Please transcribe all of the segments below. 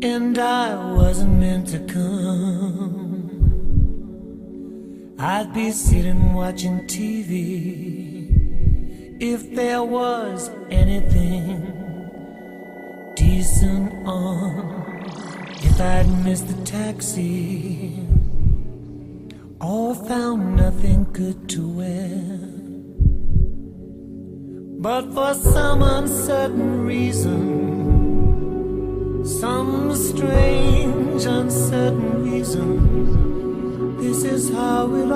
and I wasn't meant to come. I'd be sitting watching TV if there was anything decent on. If I'd missed the taxi or found nothing good to wear, but for some uncertain reason, some strange uncertain reason, this is how it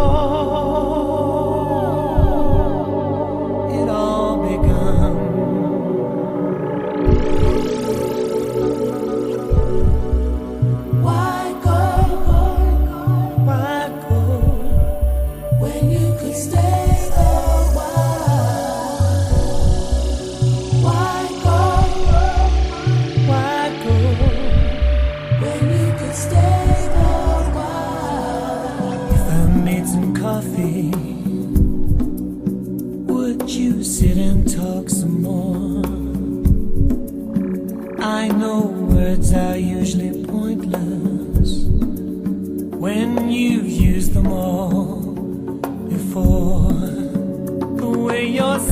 all begun. Why go when you could stay a while? Why go when you could stay a while? If I made some coffee, would you sit and talk some more? I know words are usually pointless when you've used them all before. The way you're